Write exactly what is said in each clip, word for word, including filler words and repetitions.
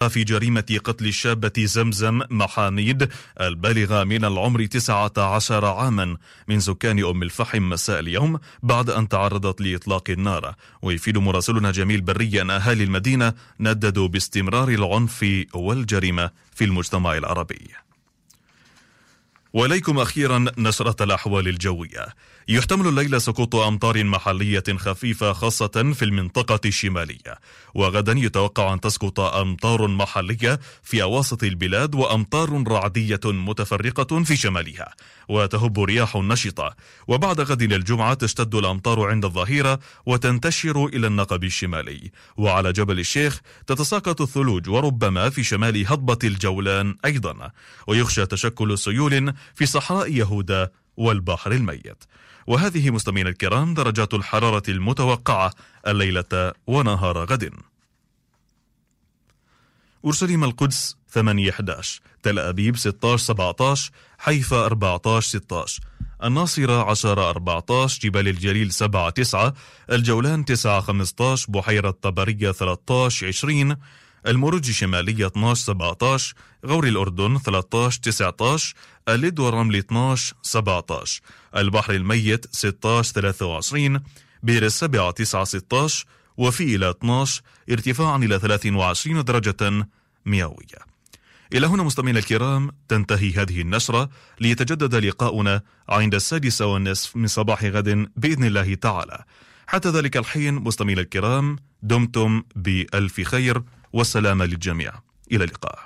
في جريمة قتل الشابة زمزم محاميد البالغة من العمر تسعة عشر عاما من سكان أم الفحم مساء اليوم بعد أن تعرضت لإطلاق النار. ويفيد مراسلنا جميل بري أن أهالي المدينة نددوا باستمرار العنف والجريمة في المجتمع العربي. وإليكم أخيرا نشرة الأحوال الجوية. يحتمل الليلة سقوط أمطار محلية خفيفة خاصة في المنطقة الشمالية، وغدا يتوقع أن تسقط أمطار محلية في أواسط البلاد وأمطار رعدية متفرقة في شمالها، وتهب رياح نشطة. وبعد غد الجمعة تشتد الأمطار عند الظهيرة وتنتشر إلى النقب الشمالي، وعلى جبل الشيخ تتساقط الثلوج وربما في شمال هضبة الجولان أيضا، ويخشى تشكل سيول في صحراء يهودا والبحر الميت. وهذه مستمعينا الكرام درجات الحرارة المتوقعة الليلة ونهار غد. أورشليم القدس ثمانية أحد عشر، تل أبيب ستة عشر سبعة عشر، حيفا أربعة عشر ستة عشر، الناصرة عشرة أربعة عشر، جبال الجليل سبعة تسعة، الجولان تسعة خمسة عشر، بحيرة طبرية ثلاثة عشر عشرين، المروج الشمالية اثنا عشر سبعة عشر، غور الأردن ثلاثة عشر تسعة عشر، اللد والرمل اثنا عشر سبعة عشر، البحر الميت ستة عشر ثلاثة وعشرين، بئر السبعة تسعة ستة عشر، وفي إلى اثنا عشر، ارتفاعا إلى ثلاثة وعشرين درجة مئوية. إلى هنا مستمعينا الكرام تنتهي هذه النشرة، ليتجدد لقاؤنا عند السادسة والنصف من صباح غد بإذن الله تعالى. حتى ذلك الحين مستمعينا الكرام دمتم بألف خير والسلام للجميع. إلى اللقاء.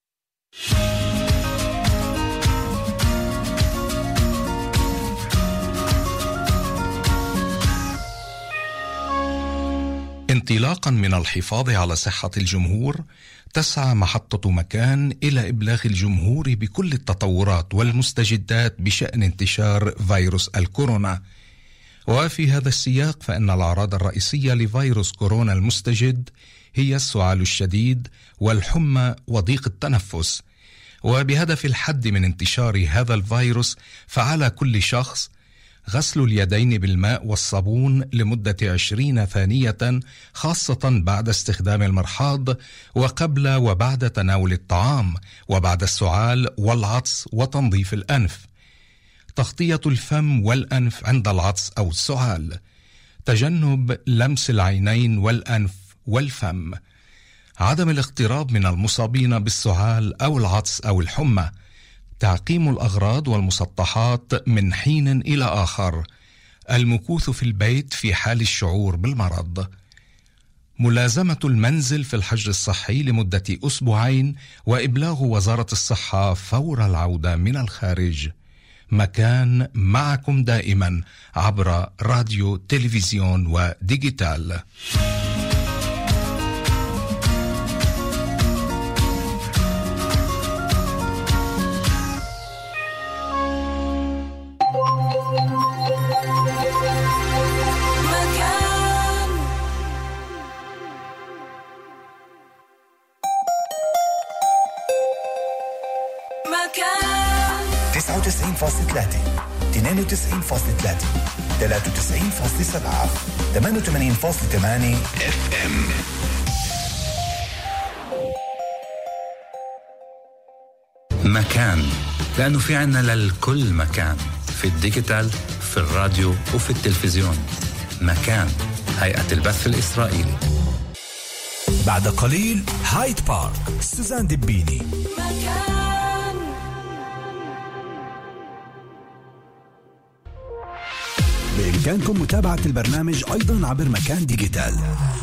انطلاقا من الحفاظ على صحة الجمهور، تسعى محطة مكان إلى إبلاغ الجمهور بكل التطورات والمستجدات بشأن انتشار فيروس الكورونا. وفي هذا السياق فإن الأعراض الرئيسية لفيروس كورونا المستجد هي السعال الشديد والحمى وضيق التنفس. وبهدف الحد من انتشار هذا الفيروس فعلى كل شخص غسل اليدين بالماء والصابون لمدة عشرين ثانية، خاصة بعد استخدام المرحاض وقبل وبعد تناول الطعام وبعد السعال والعطس وتنظيف الأنف. تغطية الفم والأنف عند العطس أو السعال. تجنب لمس العينين والأنف والفم. عدم الاقتراب من المصابين بالسعال أو العطس أو الحمى. تعقيم الأغراض والمسطحات من حين إلى آخر. المكوث في البيت في حال الشعور بالمرض. ملازمة المنزل في الحجر الصحي لمدة أسبوعين، وإبلاغ وزارة الصحة فور العودة من الخارج. مكان معكم دائما عبر راديو تلفزيون وديجيتال. تسعة وتسعين فاصلة ثلاثة، اثنين وتسعين فاصلة ثلاثة، ثلاثة وتسعين فاصلة سبعة، ثمانية وثمانين فاصلة ثمانية اف ام. مكان، لأنه في عنا للكل مكان، في الديجيتال، في الراديو وفي التلفزيون. مكان، هيئة البث الإسرائيلي. بعد قليل هايد بارك، سوزان دبيني. مكان. بإمكانكم متابعة البرنامج أيضا عبر مكان ديجيتال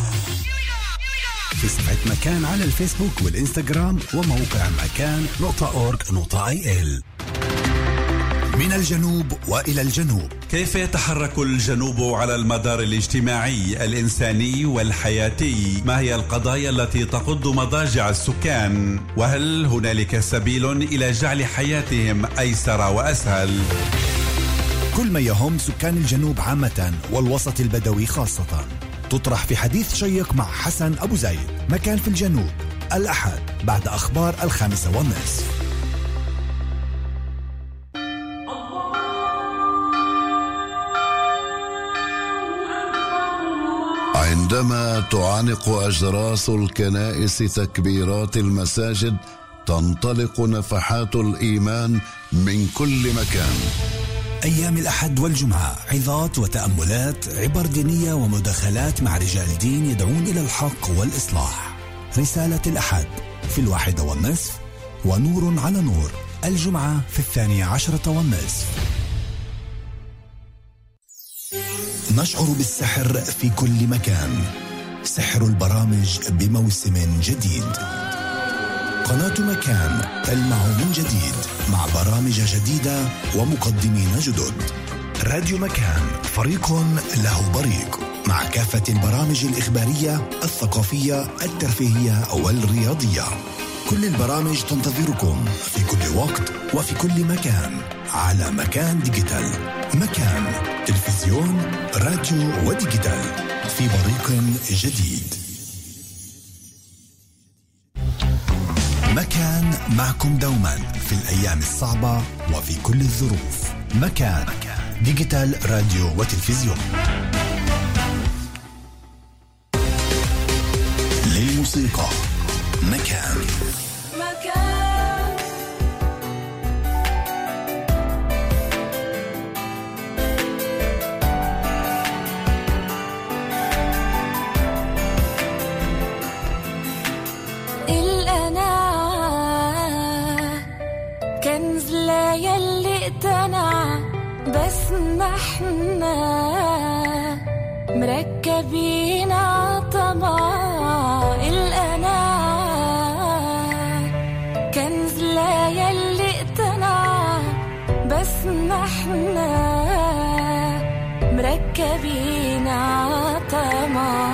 في صفحة مكان على الفيسبوك والإنستغرام وموقع مكان نقطة أورج نقطة آي إل. من الجنوب وإلى الجنوب. كيف يتحرك الجنوب على المدار الاجتماعي الإنساني والحياتي؟ ما هي القضايا التي تقض مضاجع السكان؟ وهل هنالك سبيل إلى جعل حياتهم أيسر وأسهل؟ كل ما يهم سكان الجنوب عامة والوسط البدوي خاصة تطرح في حديث شيق مع حسن أبو زيد. مكان في الجنوب، الأحد بعد أخبار الخامسة والنصف. عندما تعانق أجراس الكنائس تكبيرات المساجد، تنطلق نفحات الإيمان من كل مكان. أيام الأحد والجمعة عظات وتأملات، عبر دينية ومداخلات مع رجال دين يدعون إلى الحق والإصلاح. رسالة الأحد في الواحدة والنصف، ونور على نور الجمعة في الثانية عشرة والنصف. نشعر بالسحر في كل مكان، سحر البرامج بموسم جديد. قناة مكان تلمع من جديد مع برامج جديدة ومقدمين جدد. راديو مكان فريق له بريق مع كافة البرامج الإخبارية، الثقافية، الترفيهية والرياضية. كل البرامج تنتظركم في كل وقت وفي كل مكان على مكان ديجيتال. مكان تلفزيون، راديو وديجيتال في بريق جديد. مكان معكم دوما في الأيام الصعبة وفي كل الظروف. مكان ديجيتال راديو وتلفزيون. للموسيقى مكان. بس نحنا مركبين عطمع الأنا، كنز لا يلي اقتنع. بس نحنا مركبين عطمع.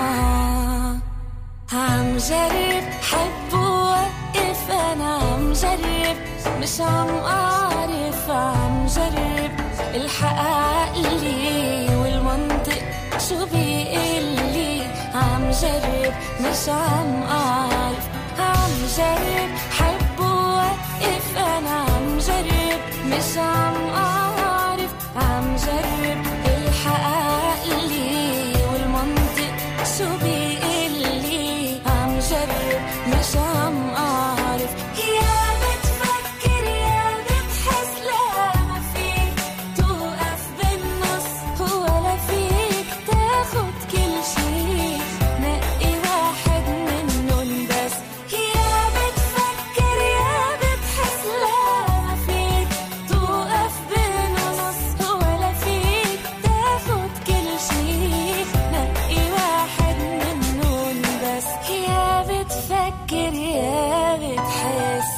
عم جرب حب ووقف، أنا عم جرب مش عم أعرف. عم جرب الحق عقلي والمنطق شو بيقلي. عم جرب مش عم أعرف. عم جرب حب ووقف، أنا عم جرب مش عم أعرف. عم جرب الحق عقلي والمنطق شو بيقلي. عم جرب مش عم أعرف. يا بتفكر يا بتحس، لا ما فيك توقف بالنص ولا فيك تاخد كل شي. نقي واحد منهم بس. يا بتفكر يا بتحس، لا ما فيك توقف بالنص ولا فيك تاخد كل شي. نقي واحد منهم بس. يا بتفكر يا بتحس.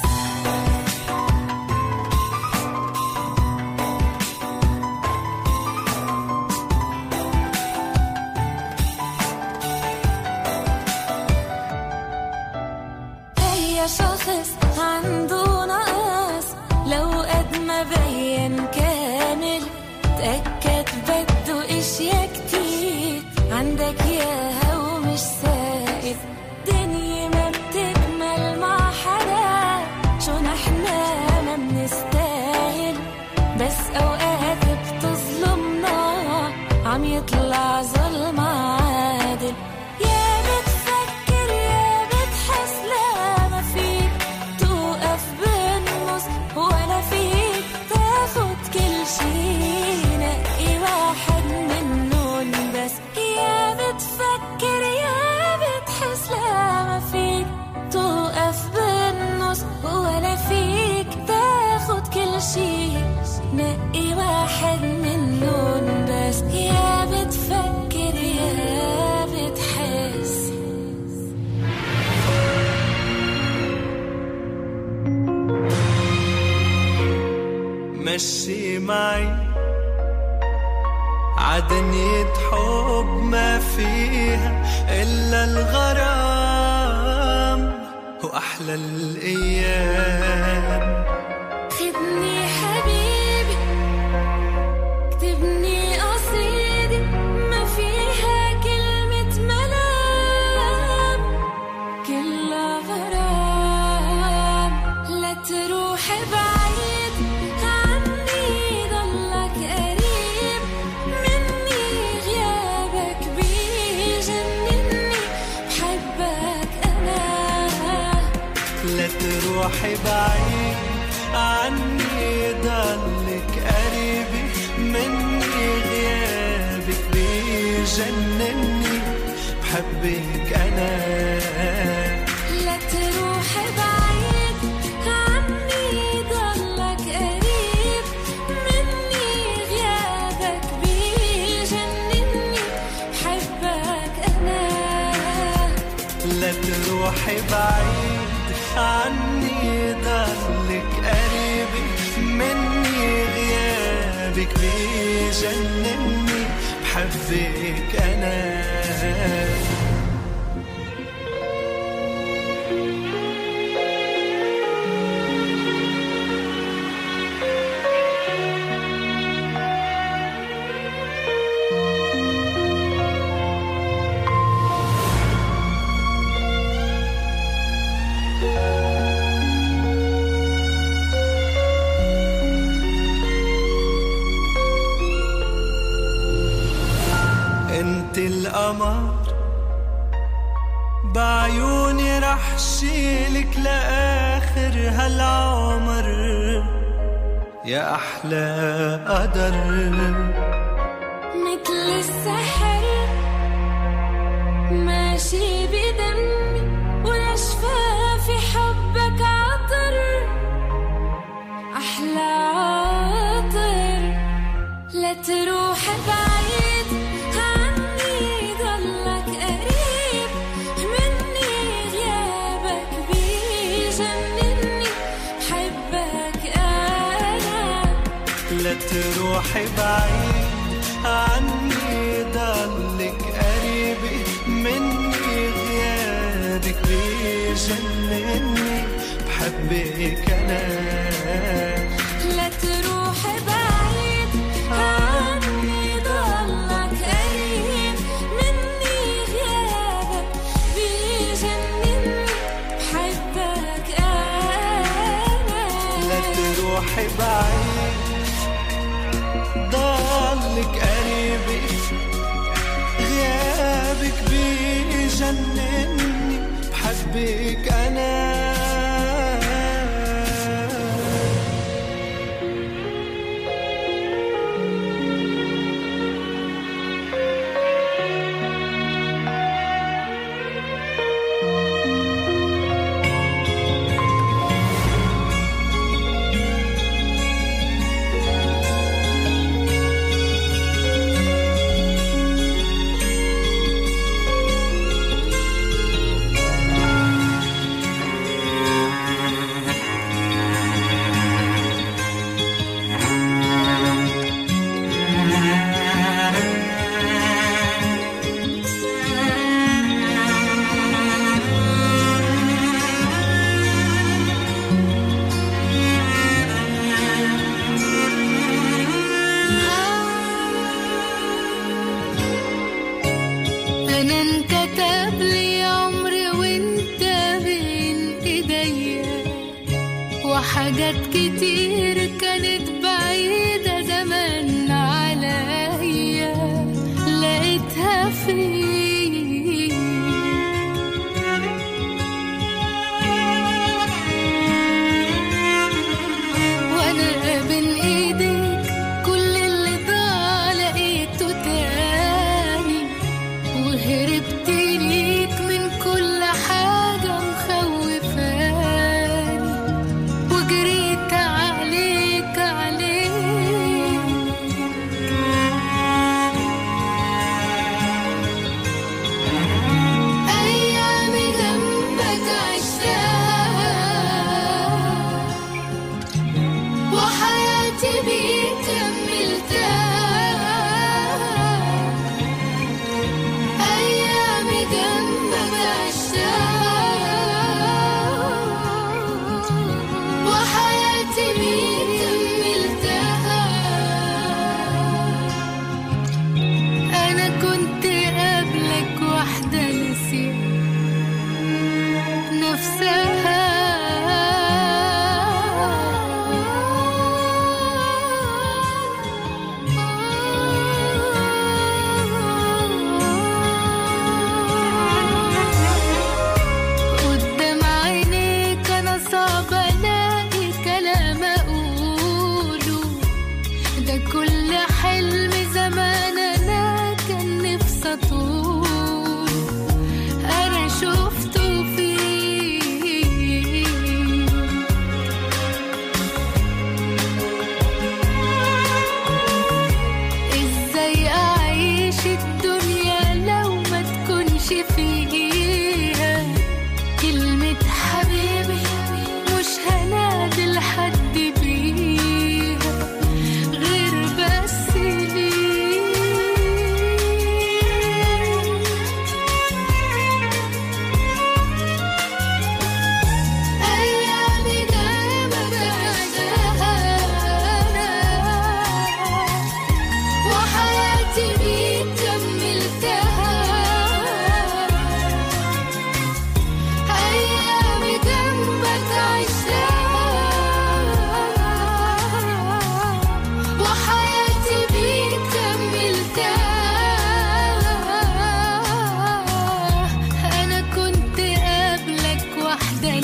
أي شخص عنده نقص لو قد ما بين كامل، تأكد بده اشياء كتير عندك ياها ومش سائل. دنيا ما بتكمل مع حدا، شو نحنا ما بنستاهل. بس أوقات بتظلمنا عم يطلع ظلم عادل. يا بتفكر يا بتحس، لا ما فيك توقف بالنص ولا فيك تاخد كل شي. نقي واحد منهم بس. يا بتفكر يا بتحس، لا ما فيك توقف بالنص ولا فيك تاخد كل شي. نقي واحد منهم بس. يا بتفكر يا بتحس. مشي معي عدنية حب ما فيها إلا الغرام وأحلى الأيام. خدني حبيبي اكتبني قصيدة ما فيها كلمة ملام، كلها غرام. لا تروح بعيد عني، ضلك قريب مني. غيابك بيجني لا تروحي بعيد عني، ضلك قريبي مني، غيابك بيجنني، بحبك أنا. لا تروحي بعيد عني، ضلك قريب مني، غيابك بيجنني، بحبك أنا. لا تروحي بعيد عني، ضلك قريبي مني، غيابك بيجنني، بحبك أنا. انت القمر بعيوني رح شيلك لآخر هالعمر، يا أحلى قدر. مثل السحر ماشي بدمي، والأشفافي حبك عطر، أحلى عطر. لا تروح بعيد عني، ضلك قريب مني، غيابك بيجنني، بحبك أنا. لا تروحي بعيد عني، ضلك قريبي مني، غيابك بيجنني، بحبك أنا. لا تروحي بعيد عني، ضلك قريب مني، غيابك بيجنني، بحبك أنا. لا تروحي بعيد ضلك قريبي، غيابك بيجنني، بحبك أنا. حاجات كتير كانت بعيدة زمان عليا لقيتها فيك، وانا بين ايديك كل اللي ضاع لقيته تاني، وهربت ليك من كل حاجة مخوفاني، وجريت عليك عليك.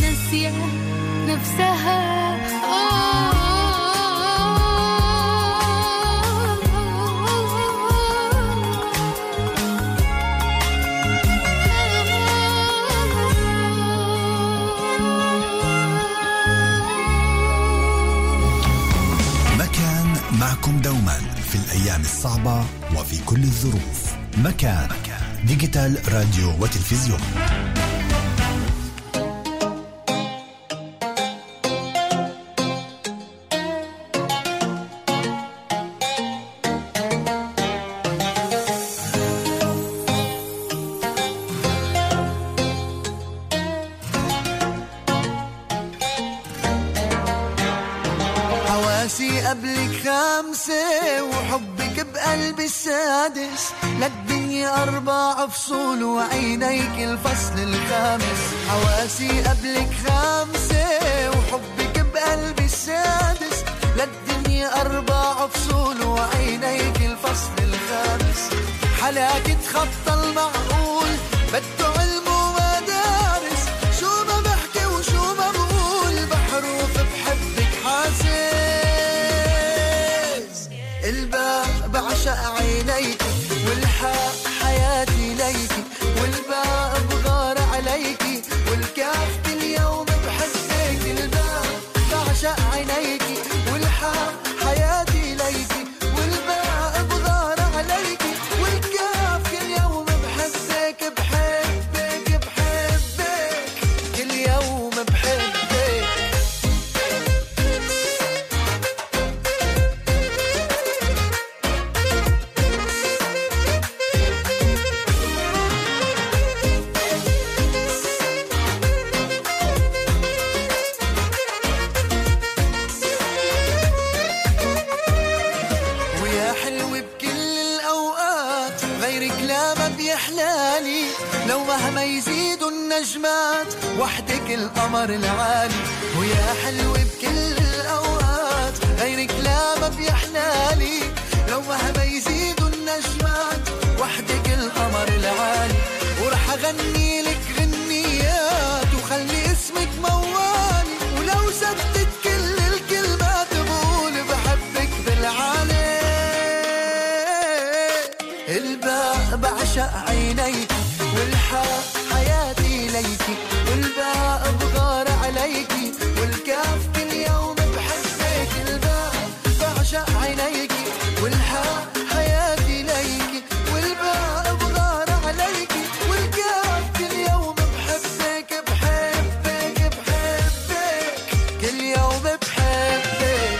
ناسية نفسها. مكان معكم دوما في الأيام الصعبة وفي كل الظروف. مكان ديجيتال راديو وتلفزيون. قبلك خمسة وحبك بقلبي السادس، للدنيا أربع فصول وعينيك الفصل الخامس. حواسي قبلك خمسة وحبك بقلبي السادس، للدنيا أربع فصول وعينيك الفصل الخامس. حلاك تخطى المعقول بده علم ومدارس، شو ما بحكي وشو ما بقول بحروف بحبك حاسس. الباء بعشق عينيك والحاء حياتي ليكي، والباء بغار عليكي، والكاف كل يوم بحسك. الباء بعشق عينيكي والحاء حياتي ليكي، والباء بغار عليكي، والكاف كل يوم بحسك. بحبك بحبك كل يوم بحبك. لو مهما يزيدوا النجمات وحدك القمر العالي، ويا حلو بكل الأوقات غيرك لا ما بيحلالي. لو مهما يزيدوا النجمات وحدك القمر العالي، ورح أغني لك غنيات وخلي اسمك موالي. ولو سدت كل الكلمات بقول بحبك بالعالي. الباء بعشق عينيك والحاء حياتي ليكي، والباء بغار عليكي، والكاف كل يوم بحسك. الباء بعشق عينيكي والحاء حياتي ليكي، والباء بغار عليكي، والكاف كل يوم بحسك. بحبك بحبك كل يوم بحبك.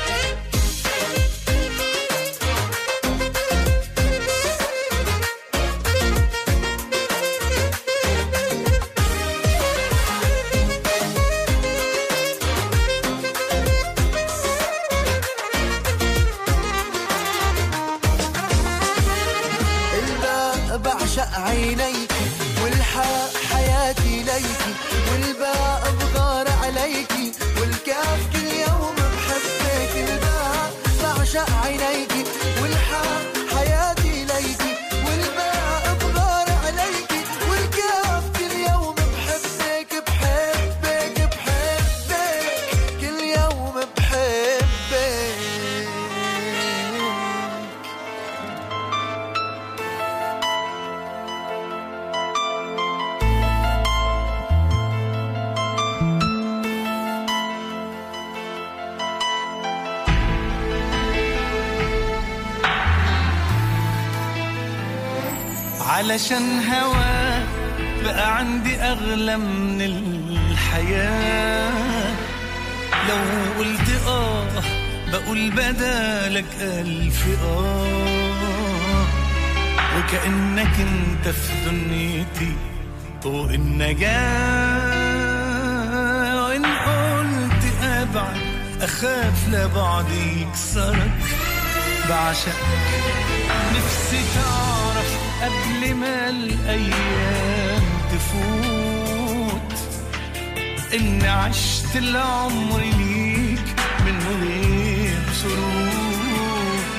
بعشق عينيكي والحاء حياتي ليكي، والباء بغار عليكي، والكاف كل يوم بحبك. الباء بعشق عينيكي والحاء حياتي ليكي، والباء بغار عليكي، والكاف كل يوم بحبك. بحبك بحبك كل يوم بحبك. علشان هوا بقى عندي أغلى من الحياة. لو قلت آه بقول بدالك ألف آه، وكأنك انت في دنيتي طوق النجاة. وإن قلت أبعد أخاف لبعد يكسرك. بعشقك نفسي تعرف قبل ما الأيام تفوت إن عشت العمر ليك من غير شروط.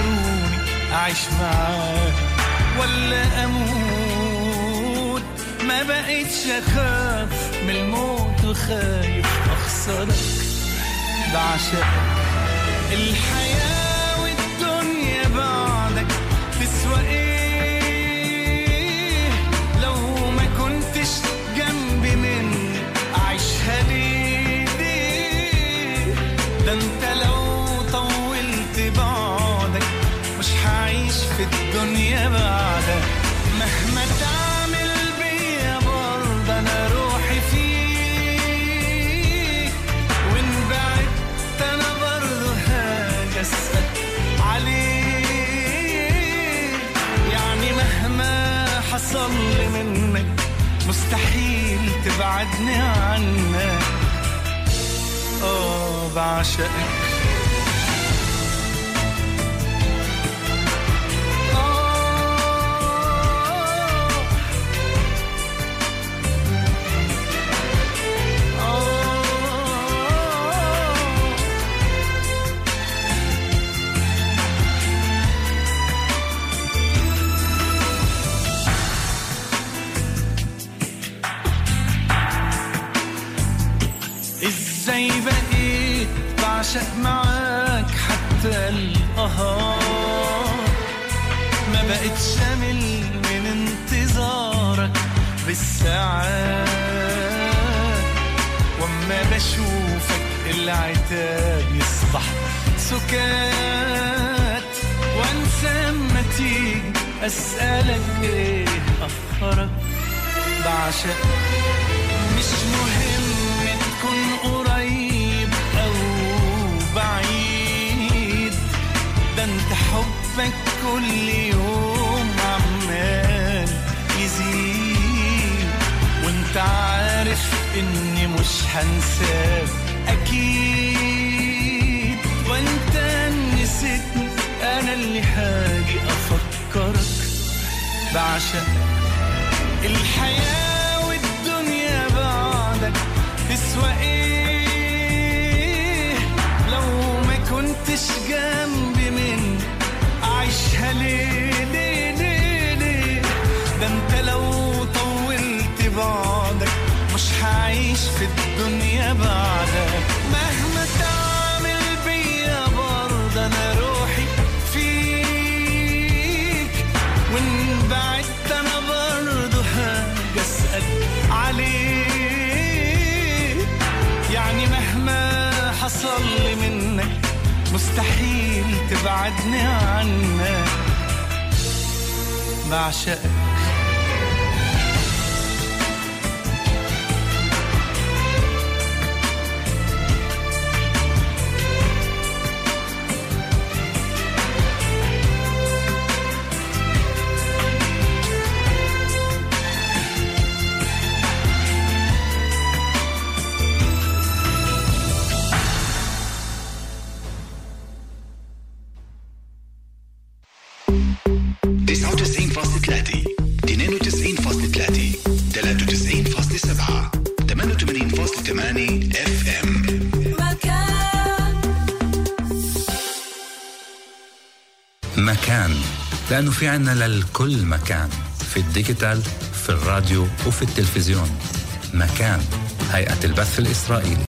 ونخيروني أعيش معاك ولا أموت، ما بقيتش أخاف من الموت وخايف أخسرك بعشقك. الحياة والدنيا بعدك تسوى ايه لو ما كنتش جنبي مني أعيشها ليه ليه؟ ده انت لو طولت بعدك مش هعيش في الدنيا بعدك. مهما تعمل بيا برضه انا روحي فيك، وان بعدت انا برضه هاجي اسأل عليك. يعني مهما حصل لي منك مستحيل تبعدني عنك. اه بعشقك. ازاي بقيت بعشق معاك حتى القهار، ما بقيت شامل من انتظارك بالساعات. وما بشوفك العتاب يصبح سكات، وانسى ما تيجي اسألك ايه اخرك بعشقك. مش مهم تكون قريب أو بعيد، ده انت حبك كل يوم عمال يزيد. وانت عارف اني مش هنساك اكيد، وانت نسيتني انا اللي هاجي افكرك بعشقك. الحياة والدنيا بعدك تسوى ايه لو ما كنتش جنبي من أعيشها ليه ليه ليه ليه؟ ده انت لو طولت بعدك مش هعيش في الدنيا بعدك. مهما تعمل بيا برضه انا روحي فيك، وان بعدت انا برضه هاجي اسأل عليك. يعني مهما حصل لي منك مستحيل تبعدني عنك بعشقك. تسعة وتسعين فاصلة ثلاثة اثنين وتسعين فاصلة ثلاثة ثلاثة وتسعين فاصلة سبعة ثمانية وثمانين فاصلة ثمانية اف ام. مكان مكان، لأنه في عنا للكل مكان، في الديجيتال، في الراديو وفي التلفزيون. مكان هيئة البث الإسرائيلي.